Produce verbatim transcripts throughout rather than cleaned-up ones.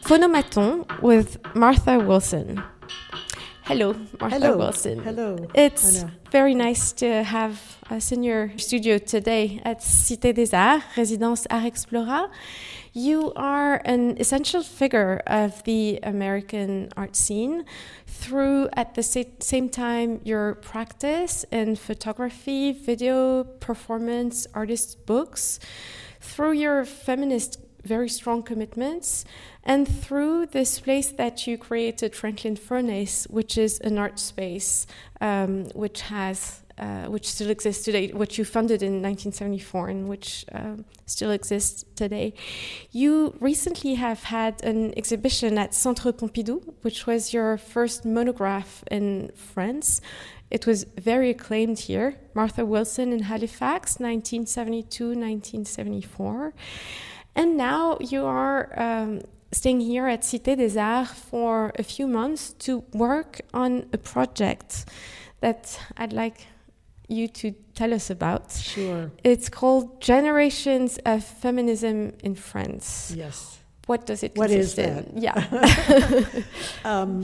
Phonomaton with Martha Wilson. Hello, Martha Hello. Wilson. Hello. It's Anna. very nice to have us in your studio today at Cité des Arts, Résidence Art Explorat. You are an essential figure of the American art scene through, at the sa- same time, your practice in photography, video, performance, artist books, through your feminist very strong commitments, and through this place that you created, Franklin Furnace, which is an art space um, which has uh, which still exists today, which you funded in nineteen seventy-four and which um, still exists today. You recently have had an exhibition at Centre Pompidou, which was your first monograph in France. It was very acclaimed here, Martha Wilson in Halifax, nineteen seventy-two to nineteen seventy-four. And now you are um, staying here at Cité des Arts for a few months to work on a project that I'd like you to tell us about. Sure. It's called Generations of Feminism in France. Yes. What does it What is consist in? that? Yeah. um,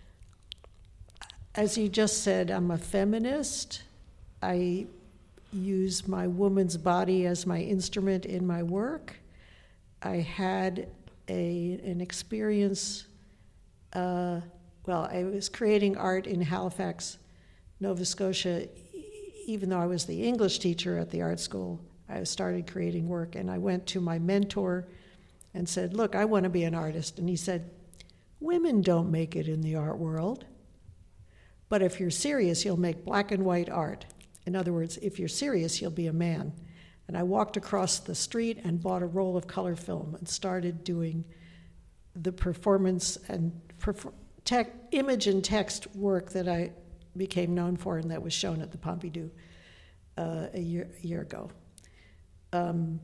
as you just said, I'm a feminist. I use my woman's body as my instrument in my work. I had a an experience, uh, well, I was creating art in Halifax, Nova Scotia. Even though I was the English teacher at the art school, I started creating work, and I went to my mentor and said, look, I want to be an artist. And he said, women don't make it in the art world, but if you're serious, you'll make black and white art. In other words, if you're serious, you'll be a man. And I walked across the street and bought a roll of color film and started doing the performance and perfor- tech, image and text work that I became known for and that was shown at the Pompidou uh, a year a year ago. Um,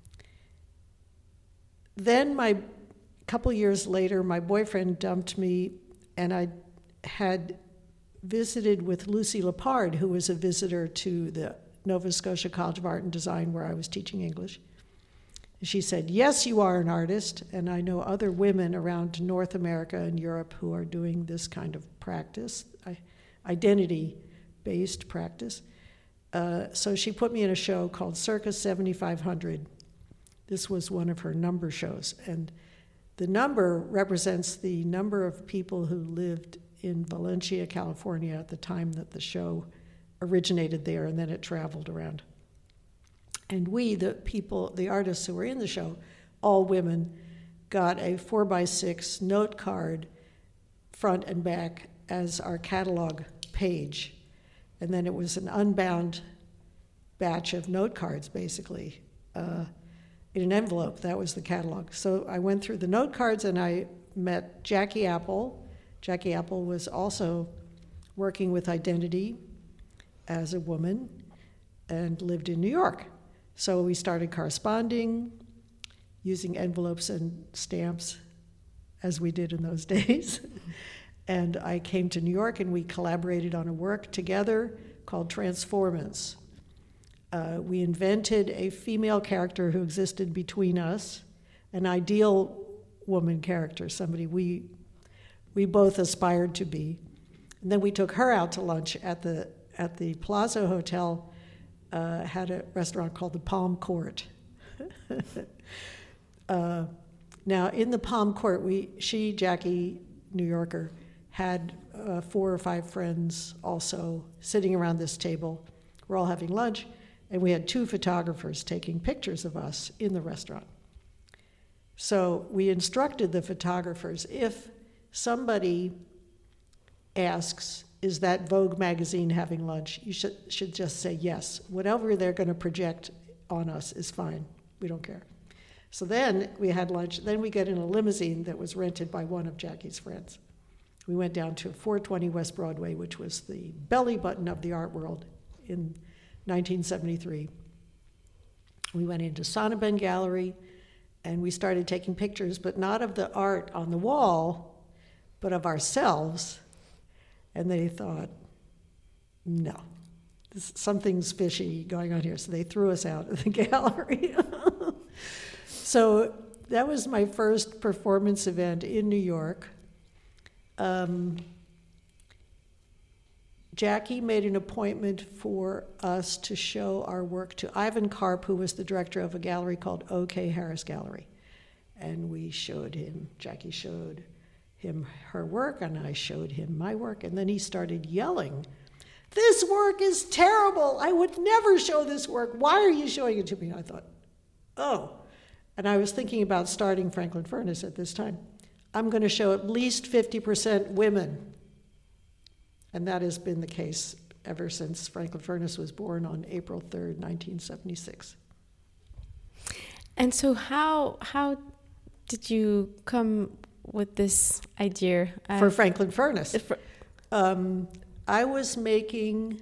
then, my couple years later, my boyfriend dumped me, and I had visited with Lucy Lepard, who was a visitor to the Nova Scotia College of Art and Design where I was teaching English. She said, yes, you are an artist, and I know other women around North America and Europe who are doing this kind of practice, identity-based practice. Uh, so she put me in a show called Circus seventy-five hundred. This was one of her number shows, and the number represents the number of people who lived in Valencia, California at the time that the show originated there, and then it traveled around. And we, the people, the artists who were in the show, all women, got a four by six note card, front and back, as our catalog page. And then it was an unbound batch of note cards, basically, uh, in an envelope. That was the catalog. So I went through the note cards, and I met Jackie Apple. Jackie Apple was also working with identity as a woman and lived in New York. So we started corresponding, using envelopes and stamps, as we did in those days. And I came to New York, and we collaborated on a work together called Transformance. Uh, we invented a female character who existed between us, an ideal woman character, somebody we we both aspired to be. And then we took her out to lunch at the at the Plaza Hotel, uh, had a restaurant called the Palm Court. uh, now, in the Palm Court, we she, Jackie, New Yorker, had uh, four or five friends also sitting around this table. We're all having lunch, and we had two photographers taking pictures of us in the restaurant. So we instructed the photographers, if somebody asks, is that Vogue magazine having lunch? You should should just say yes. Whatever they're going to project on us is fine. We don't care. So then we had lunch. Then we get in a limousine that was rented by one of Jackie's friends. We went down to four twenty West Broadway, which was the belly button of the art world in nineteen seventy-three. We went into Sonnabend Gallery, and we started taking pictures, but not of the art on the wall, but of ourselves. And they thought, no, this, something's fishy going on here. So they threw us out of the gallery. So that was my first performance event in New York. Um, Jackie made an appointment for us to show our work to Ivan Karp, who was the director of a gallery called O K. Harris Gallery. And we showed him, Jackie showed him her work, and I showed him my work, and then he started yelling, "This work is terrible! I would never show this work. Why are you showing it to me?" I thought, oh. And I was thinking about starting Franklin Furnace at this time. I'm going to show at least fifty percent women. And that has been the case ever since Franklin Furnace was born on April third, nineteen seventy-six. And so how how did you come with this idea? Of For Franklin Furnace? For, um, I was making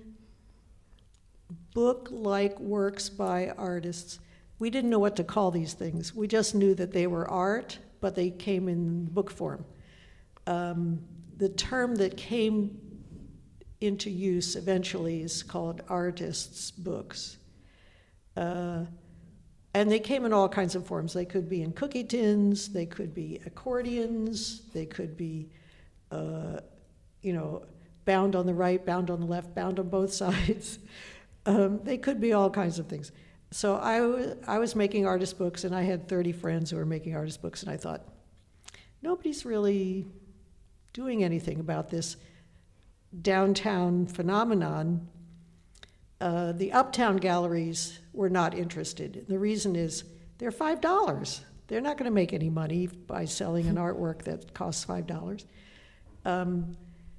book-like works by artists. We didn't know what to call these things. We just knew that they were art, but they came in book form. Um, the term that came into use eventually is called artists' books. Uh, and they came in all kinds of forms. They could be in cookie tins, they could be accordions, they could be, uh, you know, bound on the right, bound on the left, bound on both sides. Um, they could be all kinds of things. So I, w- I was making artist books, and I had thirty friends who were making artist books, and I thought, nobody's really doing anything about this downtown phenomenon. Uh, the uptown galleries were not interested. The reason is they're five dollars. They're not going to make any money by selling an artwork that costs five dollars. Um,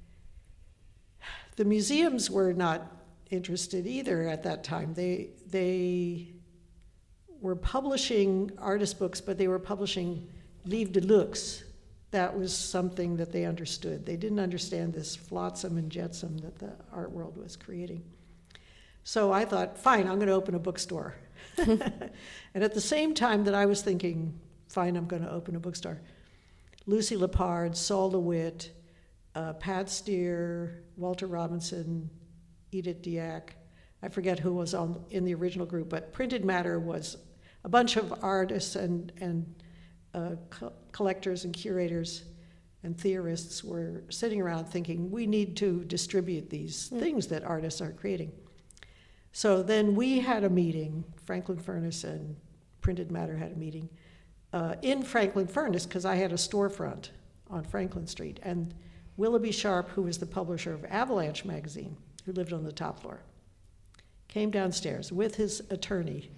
the museums were not interested either at that time. They they were publishing artist books, but they were publishing livres de luxe. That was something that they understood. They didn't understand this flotsam and jetsam that the art world was creating. So I thought, fine, I'm going to open a bookstore. And at the same time that I was thinking, fine, I'm going to open a bookstore, Lucy Lepard, Saul DeWitt, uh, Pat Steer, Walter Robinson, Edith Diak, I forget who was on in the original group, but Printed Matter was a bunch of artists and, and uh, co- collectors and curators and theorists were sitting around thinking, we need to distribute these mm. things that artists are creating. So then we had a meeting, Franklin Furnace and Printed Matter had a meeting, uh, in Franklin Furnace, because I had a storefront on Franklin Street. And Willoughby Sharp, who was the publisher of Avalanche magazine, who lived on the top floor, came downstairs with his attorney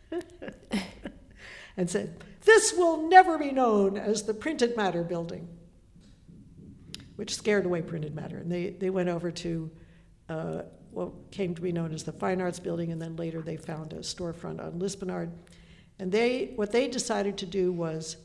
and said, "This will never be known as the Printed Matter building," which scared away Printed Matter. And they, they went over to uh, what came to be known as the Fine Arts Building, and then later they found a storefront on Lispenard. And they what they decided to do was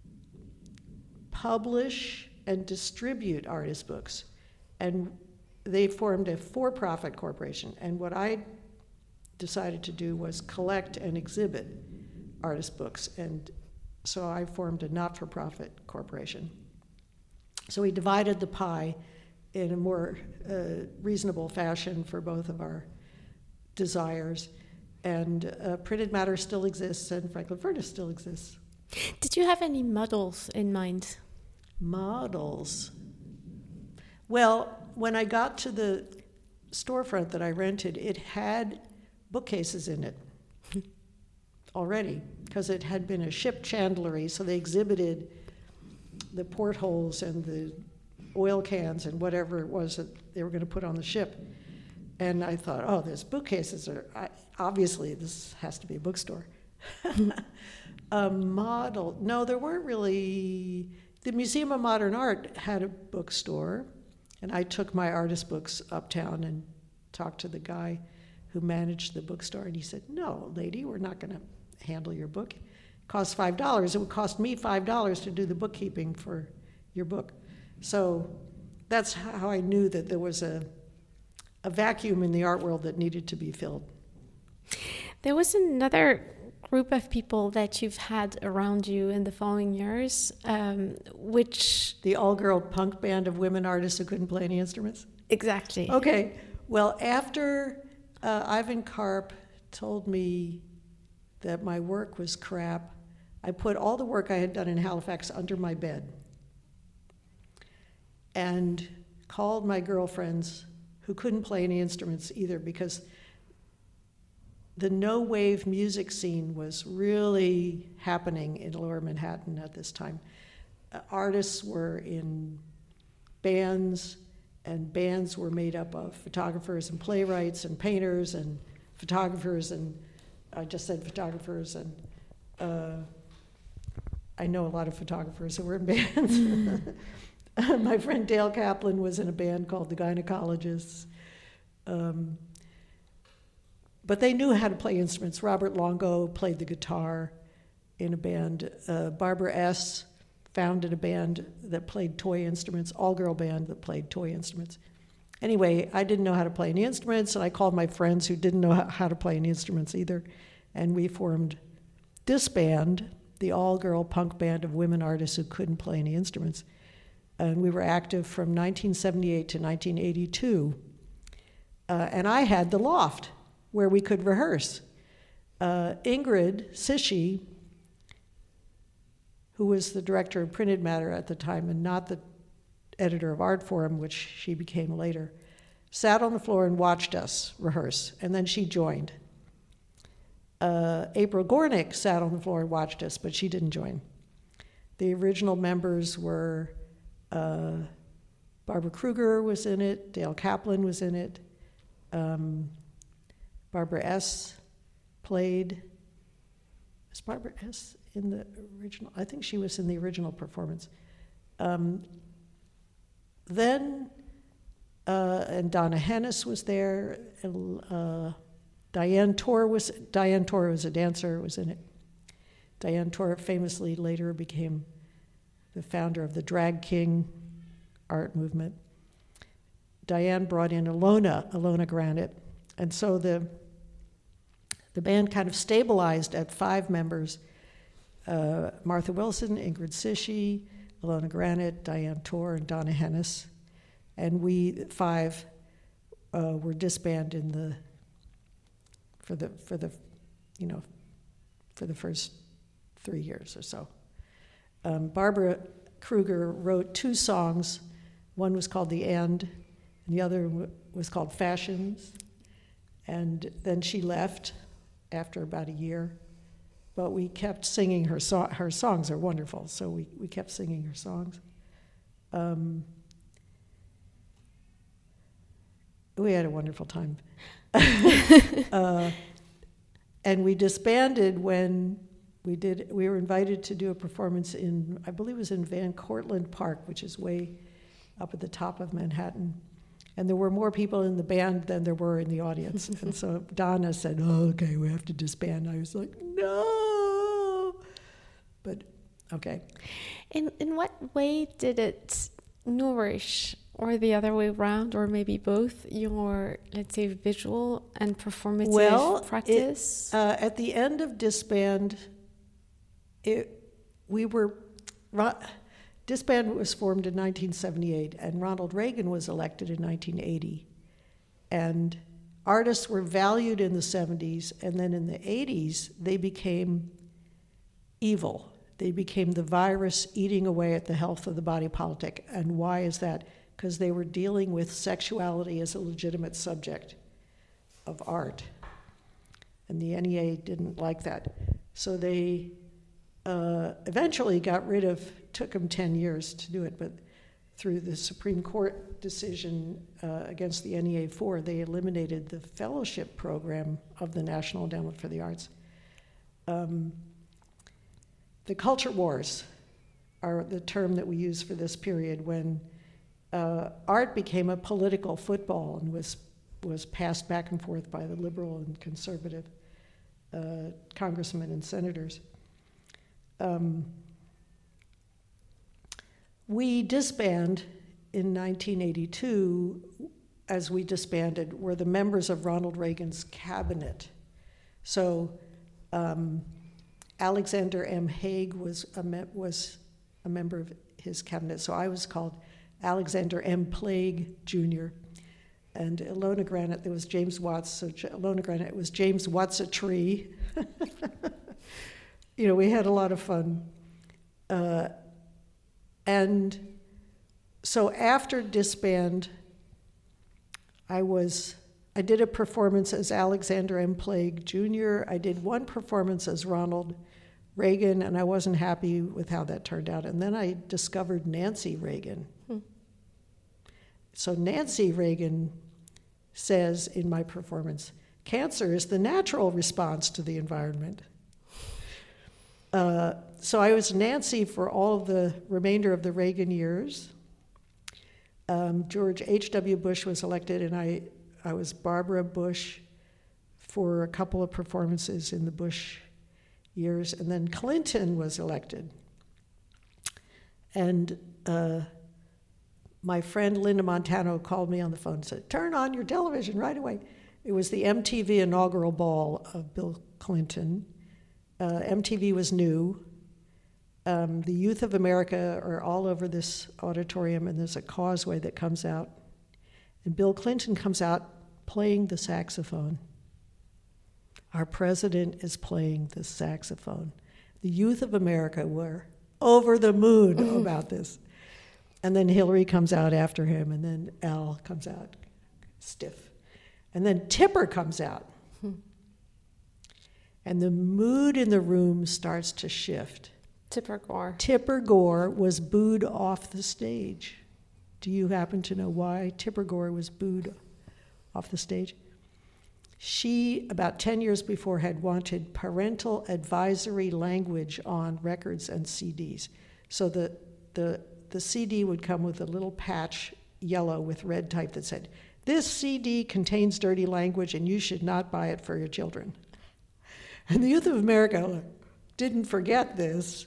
publish and distribute artist books. And they formed a for-profit corporation. And what I decided to do was collect and exhibit artist books. And so I formed a not-for-profit corporation. So we divided the pie in a more uh, reasonable fashion for both of our desires. And uh, Printed Matter still exists, and Franklin Furnace still exists. Did you have any models in mind? Models? Well, when I got to the storefront that I rented, it had bookcases in it already, because it had been a ship chandlery, so they exhibited the portholes and the oil cans and whatever it was that they were going to put on the ship. And I thought, oh, there's bookcases. Are, I, obviously, this has to be a bookstore. A model, no, there weren't really. The Museum of Modern Art had a bookstore, and I took my artist books uptown and talked to the guy who managed the bookstore, and he said, "No, lady, we're not going to handle your book. It costs five dollars. It would cost me five dollars to do the bookkeeping for your book." So that's how I knew that there was a, a vacuum in the art world that needed to be filled. There was another group of people that you've had around you in the following years, um, which... The all-girl punk band of women artists who couldn't play any instruments? Exactly. Okay. Well, after uh, Ivan Karp told me that my work was crap, I put all the work I had done in Halifax under my bed and called my girlfriends who couldn't play any instruments either, because the no-wave music scene was really happening in Lower Manhattan at this time. Uh, artists were in bands, and bands were made up of photographers and playwrights and painters and photographers, and I just said photographers, and uh, I know a lot of photographers who were in bands. My friend Dale Kaplan was in a band called the Gynecologists. Um, but they knew how to play instruments. Robert Longo played the guitar in a band. Uh, Barbara S. founded a band that played toy instruments, all-girl band that played toy instruments. Anyway, I didn't know how to play any instruments, and I called my friends who didn't know how to play any instruments either, and we formed this band, the all-girl punk band of women artists who couldn't play any instruments. And we were active from nineteen seventy-eight to nineteen eighty-two. Uh, and I had the loft where we could rehearse. Uh, Ingrid Sishi, who was the director of Printed Matter at the time and not the editor of Art Forum, which she became later, sat on the floor and watched us rehearse, and then she joined. Uh, April Gornick sat on the floor and watched us, but she didn't join. The original members were uh, Barbara Kruger was in it, Dale Kaplan was in it, um, Barbara S. played. Was Barbara S. in the original? I think she was in the original performance. Um, then, uh, and Donna Hennis was there. Uh, Diane Torr was Diane Torr was a dancer, was in it. Diane Torr famously later became the founder of the Drag King art movement. Diane brought in Ilona, Ilona Granite, and so the the band kind of stabilized at five members. Uh, Martha Wilson, Ingrid Sishi, Ilona Granite, Diane Torr, and Donna Hennis. And we five uh, were disbanded in the for the for the you know for the first three years or so. Um, Barbara Kruger wrote two songs. One was called The End, and the other w- was called Fashions. And then she left after about a year. But we kept singing her so- her songs are wonderful, so we, we kept singing her songs. Um, we had a wonderful time. uh, and we disbanded when we did. We were invited to do a performance in, I believe it was in Van Cortlandt Park, which is way up at the top of Manhattan. And there were more people in the band than there were in the audience. And so Donna said, oh, okay, we have to disband. I was like, no. But, okay. In in what way did it nourish, or the other way around, or maybe both, your, let's say, visual and performative well, practice? It, uh, at the end of Disband, it, we were... Disband was formed in nineteen seventy-eight, and Ronald Reagan was elected in nineteen eighty. And artists were valued in the seventies, and then in the eighties, they became evil. They became the virus eating away at the health of the body politic. And why is that? Because they were dealing with sexuality as a legitimate subject of art. And the N E A didn't like that. So they uh, eventually got rid of, took them ten years to do it, but through the Supreme Court decision uh, against the N E A four, they eliminated the fellowship program of the National Endowment for the Arts. Um, the culture wars are the term that we use for this period, when uh, art became a political football and was was passed back and forth by the liberal and conservative uh, congressmen and senators. Um, we disbanded in nineteen eighty-two. As we disbanded, were the members of Ronald Reagan's cabinet. So um, Alexander M. Haig was a, me- was a member of his cabinet. So I was called Alexander M. Plague Junior And Ilona Granite, there was James Watts. So J- Ilona Granite was James Watts a tree. you know, we had a lot of fun. Uh, and so after Disband, I was, I did a performance as Alexander M. Plague Junior I did one performance as Ronald Reagan, and I wasn't happy with how that turned out. And then I discovered Nancy Reagan. Hmm. So Nancy Reagan says in my performance, cancer is the natural response to the environment. Uh, so I was Nancy for all of the remainder of the Reagan years. Um, George H W. Bush was elected, and I, I was Barbara Bush for a couple of performances in the Bush years, and then Clinton was elected. And uh, my friend Linda Montano called me on the phone and said, turn on your television right away. It was the M T V inaugural ball of Bill Clinton. Uh, M T V was new. Um, the youth of America are all over this auditorium, and there's a causeway that comes out. And Bill Clinton comes out playing the saxophone. Our president is playing the saxophone. The youth of America were over the moon about this. And then Hillary comes out after him, and then Al comes out stiff. And then Tipper comes out. And the mood in the room starts to shift. Tipper Gore. Tipper Gore was booed off the stage. Do you happen to know why Tipper Gore was booed off the stage? She, about ten years before, had wanted parental advisory language on records and C Ds. So the, the, the C D would come with a little patch, yellow with red type, that said, this C D contains dirty language and you should not buy it for your children. And the youth of America didn't forget this.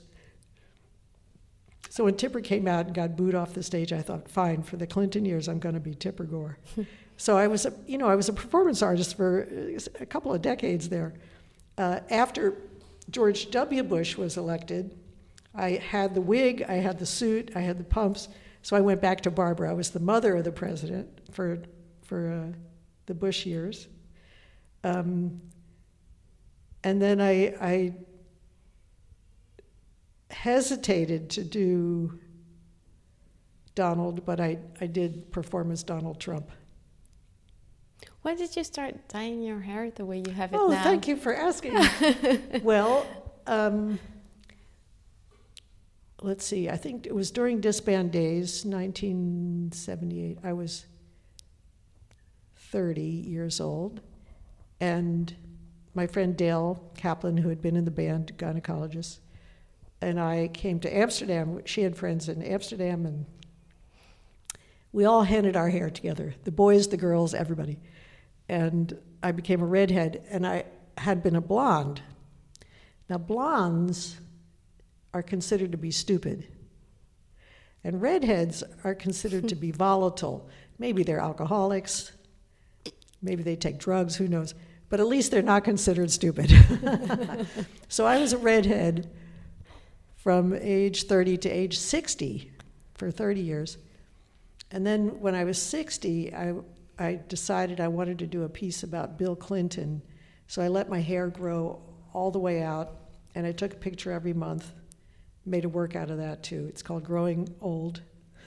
So when Tipper came out and got booed off the stage, I thought, fine, for the Clinton years, I'm going to be Tipper Gore. So I was, a, you know, I was a performance artist for a couple of decades there. Uh, after George W. Bush was elected, I had the wig, I had the suit, I had the pumps. So I went back to Barbara. I was the mother of the president for for uh, the Bush years. Um, and then I, I hesitated to do Donald, but I, I did perform as Donald Trump. When did you start dyeing your hair the way you have it oh, now? Oh, thank you for asking. Well, um, let's see, I think it was during Disband days, nineteen seventy-eight. I was thirty years old, and my friend Dale Kaplan, who had been in the band, gynecologist, and I came to Amsterdam. She had friends in Amsterdam, and we all handed our hair together, the boys, the girls, everybody. And I became a redhead, and I had been a blonde. Now, blondes are considered to be stupid, and redheads are considered to be volatile. Maybe they're alcoholics, maybe they take drugs, who knows, but at least they're not considered stupid. So I was a redhead from age thirty to age sixty for thirty years. And then when I was sixty, I, I decided I wanted to do a piece about Bill Clinton. So I let my hair grow all the way out, and I took a picture every month, made a work out of that too. It's called Growing Old.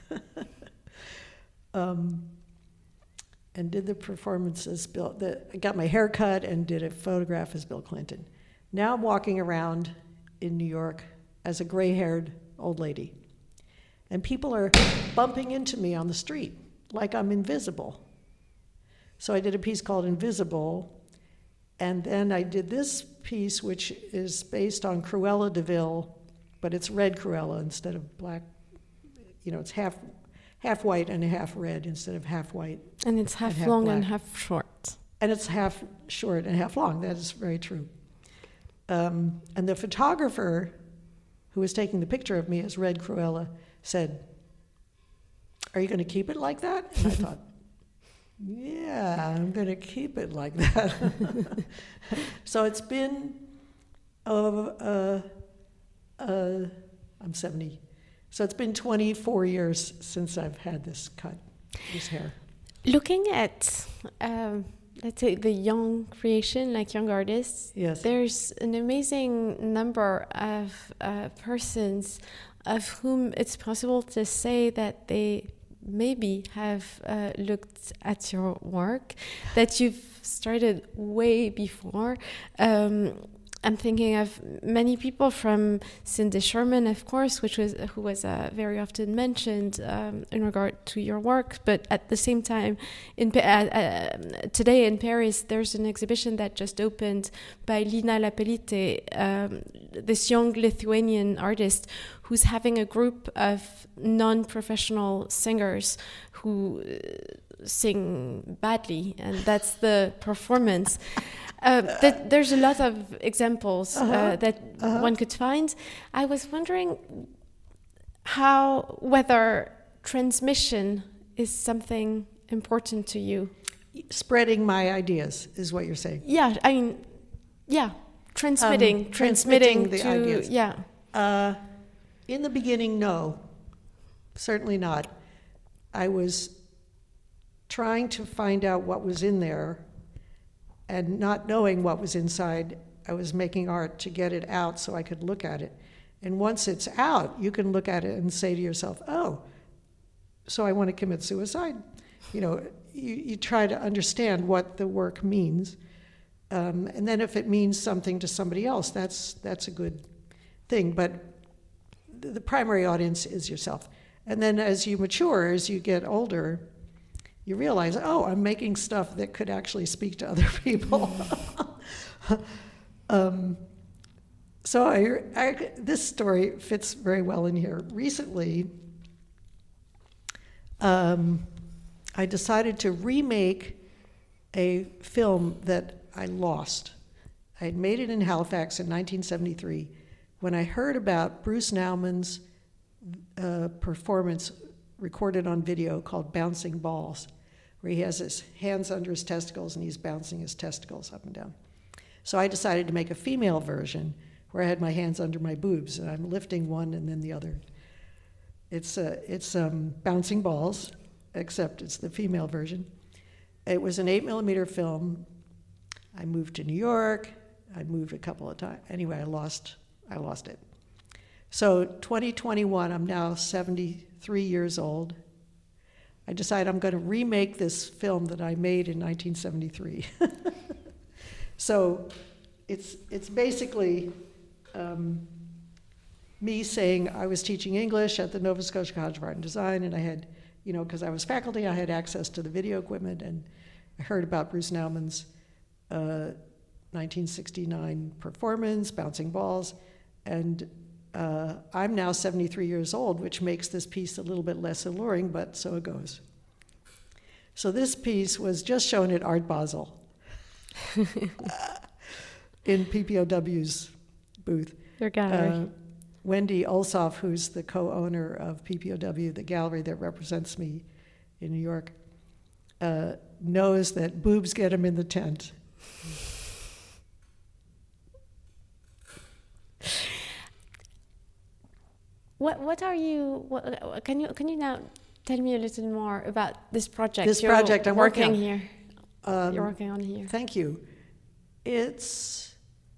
um, and did the performance as Bill, the, I got my hair cut and did a photograph as Bill Clinton. Now I'm walking around in New York as a gray-haired old lady. And people are bumping into me on the street like I'm invisible. So I did a piece called Invisible, and then I did this piece, which is based on Cruella de Vil, but it's red Cruella instead of black. You know, it's half half white and half red instead of half white. And it's half, and half long black. and half short. And it's half short and half long. That is very true. Um, and the photographer who was taking the picture of me as red Cruella said, "Are you going to keep it like that?" And I thought, yeah, I'm going to keep it like that. So it's been, uh, uh, uh, I'm seventy, so it's been twenty-four years since I've had this cut, this hair. Looking at um, let's say, the young creation, like young artists, Yes. there's an amazing number of uh, persons of whom it's possible to say that they maybe have uh, looked at your work, that you've started way before. Um, I'm thinking of many people, from Cindy Sherman, of course, which was who was uh, very often mentioned um, in regard to your work. But at the same time, in uh, uh, today in Paris, there's an exhibition that just opened by Lina Lapelite, um, this young Lithuanian artist who's having a group of non-professional singers who uh, sing badly, and that's the performance. Uh, that there's a lot of examples uh-huh. uh, that uh-huh. one could find. I was wondering how, whether transmission is something important to you. Spreading my ideas is what you're saying. Yeah, I mean, yeah, transmitting, um, transmitting, transmitting the to, ideas. Yeah. Uh, in the beginning, no, certainly not. I was trying to find out what was in there, and not knowing what was inside, I was making art to get it out so I could look at it. And once it's out, you can look at it and say to yourself, oh, so I want to commit suicide. You know, you, you try to understand what the work means. Um, and then if it means something to somebody else, that's that's a good thing. But the, the primary audience is yourself. And then as you mature, as you get older, you realize, oh, I'm making stuff that could actually speak to other people. um, so I, I, this story fits very well in here. Recently, um, I decided to remake a film that I lost. I had made it in Halifax in nineteen seventy-three when I heard about Bruce Naumann's uh, performance recorded on video called Bouncing Balls, where he has his hands under his testicles and he's bouncing his testicles up and down. So I decided to make a female version where I had my hands under my boobs and I'm lifting one and then the other. It's uh, it's um, Bouncing Balls, except it's the female version. It was an eight millimeter film. I moved to New York. I moved a couple of times. Anyway, I lost I lost it. So twenty twenty-one, I'm now seventy-three years old. I decided I'm going to remake this film that I made in nineteen seventy-three. So it's it's basically um, me saying I was teaching English at the Nova Scotia College of Art and Design, and I had, you know, because I was faculty, I had access to the video equipment, and I heard about Bruce Naumann's uh, nineteen sixty-nine performance, Bouncing Balls, and Uh, I'm now seventy-three years old, which makes this piece a little bit less alluring, but so it goes. So this piece was just shown at Art Basel uh, in P P O W's booth. Their gallery. Uh, Wendy Olsoff, who's the co-owner of P P O W, the gallery that represents me in New York, uh, knows that boobs get him in the tent. What what are you? What, can you can you now tell me a little more about this project? This You're project I'm working, working here. Um, You're working on here. Thank you. It's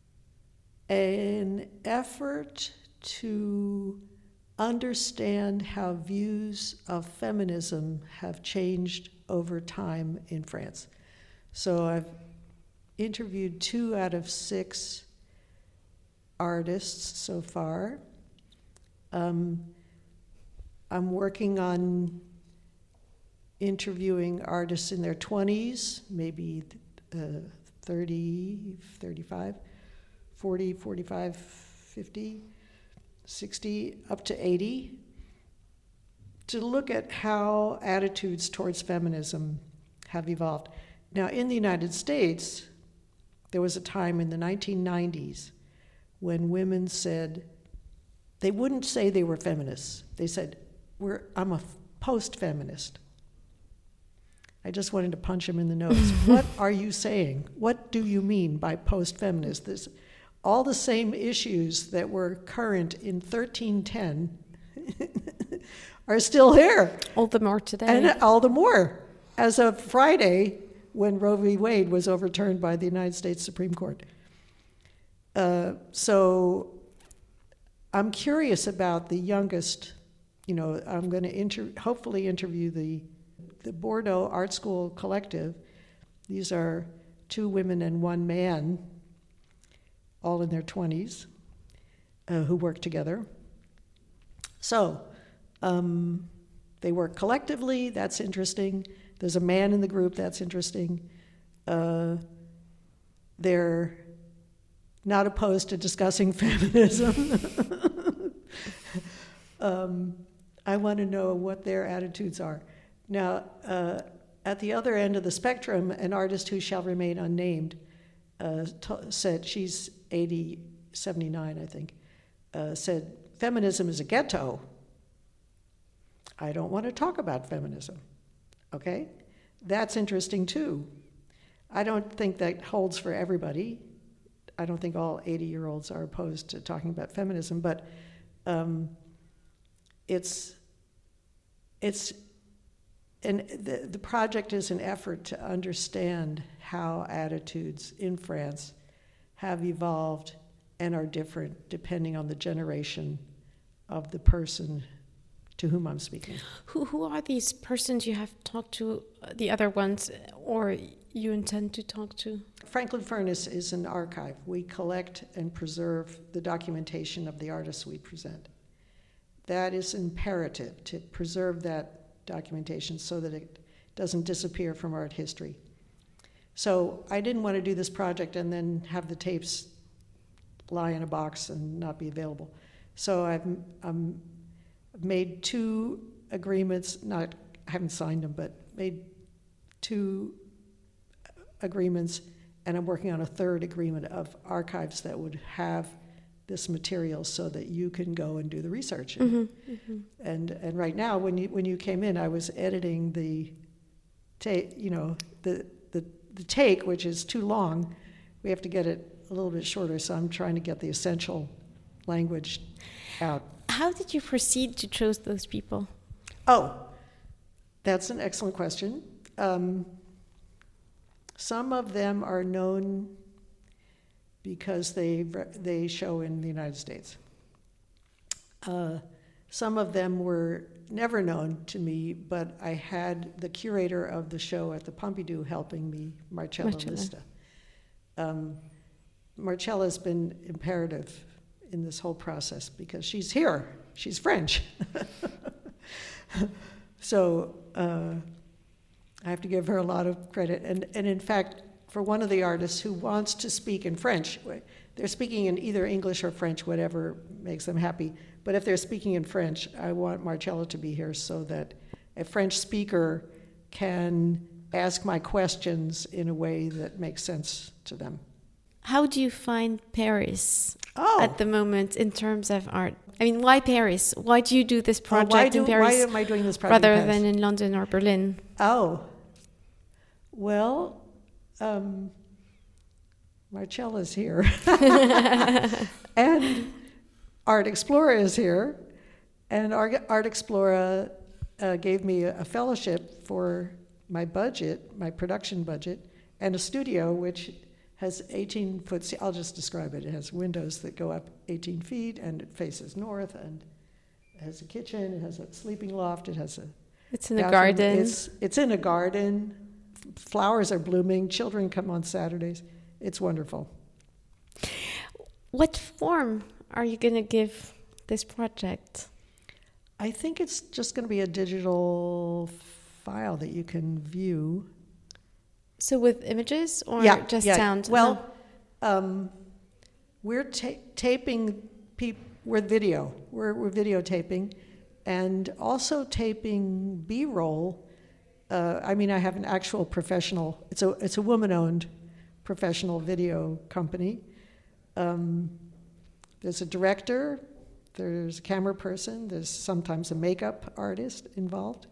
an effort to understand how views of feminism have changed over time in France. So I've interviewed two out of six artists so far. Um, I'm working on interviewing artists in their twenties, maybe uh, thirty, thirty-five, forty, forty-five, fifty, sixty, up to eighty, to look at how attitudes towards feminism have evolved. Now, in the United States, there was a time in the nineteen nineties when women said, they wouldn't say they were feminists. They said, "We're, I'm a post-feminist." I just wanted to punch him in the nose. What are you saying? What do you mean by post-feminist? This, all the same issues that were current in thirteen ten are still here. All the more today. And all the more. As of Friday, when Roe v. Wade was overturned by the United States Supreme Court. Uh, so I'm curious about the youngest. You know, I'm going to inter- hopefully interview the the Bordeaux Art School Collective. These are two women and one man, all in their twenties, uh, who work together. So um, they work collectively, that's interesting. There's a man in the group, that's interesting. Uh, they're not opposed to discussing feminism. um, I want to know what their attitudes are. Now, uh, at the other end of the spectrum, an artist who shall remain unnamed uh, t- said, she's eighty, seventy-nine, I think, uh, said, feminism is a ghetto. I don't want to talk about feminism, okay? That's interesting too. I don't think that holds for everybody. I don't think all eighty-year-olds are opposed to talking about feminism, but um, it's, it's, and the, the project is an effort to understand how attitudes in France have evolved and are different depending on the generation of the person to whom I'm speaking. Who who are these persons you have talked to, uh, the other ones, or you intend to talk to? Franklin Furnace is an archive. We collect and preserve the documentation of the artists we present. That is imperative, to preserve that documentation so that it doesn't disappear from art history. So I didn't want to do this project and then have the tapes lie in a box and not be available. So I've um, made two agreements, not, I haven't signed them, but made two agreements, and I'm working on a third agreement of archives that would have this material so that you can go and do the research. Mm-hmm, mm-hmm. And and right now, when you when you came in, I was editing the take, you know, the, the the take, which is too long. We have to get it a little bit shorter, so I'm trying to get the essential language out. How did you proceed to choose those people? Oh, that's an excellent question. Um, some of them are known because they they show in the United States. Uh, some of them were never known to me, but I had the curator of the show at the Pompidou helping me, Marcella, Marcella. Lista. Um, Marcella's been imperative in this whole process because she's here. She's French. So uh, I have to give her a lot of credit. And, and in fact, for one of the artists who wants to speak in French, they're speaking in either English or French, whatever makes them happy. But if they're speaking in French, I want Marcella to be here so that a French speaker can ask my questions in a way that makes sense to them. How do you find Paris Oh. at the moment in terms of art? I mean, why Paris? Why do you do this project Oh, why do, in Paris why am I doing this project rather in Paris? than in London or Berlin? Oh, well, um, Marcella's here. And Art Explorer is here. And Art, Art Explorer uh, gave me a, a fellowship for my budget, my production budget, and a studio which has eighteen foot, I'll just describe it. It has windows that go up eighteen feet, and it faces north, and it has a kitchen, it has a sleeping loft, it has a It's in a bathroom. garden. It's, it's in a garden. Flowers are blooming. Children come on Saturdays. It's wonderful. What form are you going to give this project? I think it's just going to be a digital file that you can view. So with images or yeah, just yeah. sound? Well, um, we're ta- taping, peop- we're video. We're, we're videotaping and also taping B-roll. Uh, I mean, I have an actual professional, it's a, it's a woman-owned professional video company. Um, there's a director, there's a camera person, there's sometimes a makeup artist involved.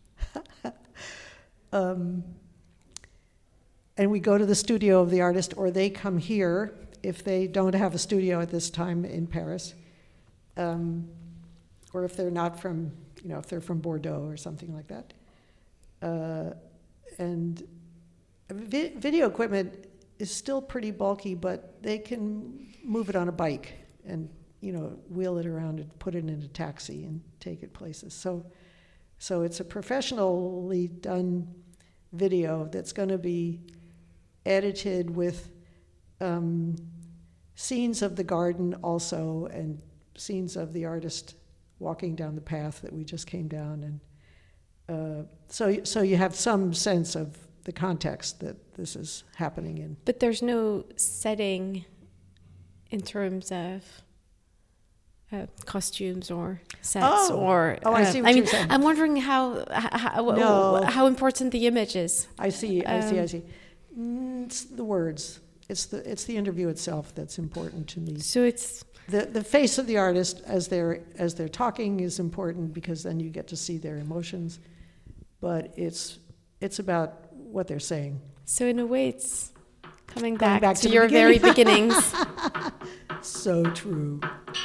um, and we go to the studio of the artist, or they come here if they don't have a studio at this time in Paris, um, or if they're not from, you know, if they're from Bordeaux or something like that. Uh, and vi- video equipment is still pretty bulky, but they can move it on a bike and, you know, wheel it around and put it in a taxi and take it places. So, so it's a professionally done video that's going to be edited with um, scenes of the garden also, and scenes of the artist walking down the path that we just came down, and uh, so so you have some sense of the context that this is happening in. But there's no setting in terms of uh, costumes or sets Oh. or. Oh, I uh, see what I you're mean, saying. I'm wondering how how, No. how important the image is. I see, I see, I Um, see. Mm, it's the words. It's the it's the interview itself that's important to me. So it's The the face of the artist as they're as they're talking is important, because then you get to see their emotions. But it's it's about what they're saying. so in a way it's coming Going back, back to, to the your very beginning. beginnings. So true.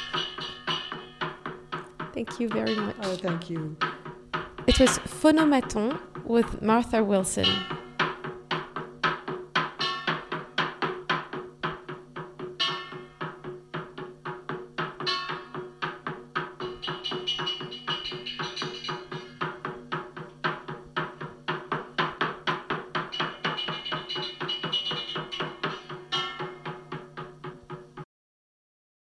Thank you very much. Oh, thank you. It was Phonomaton with Martha Wilson.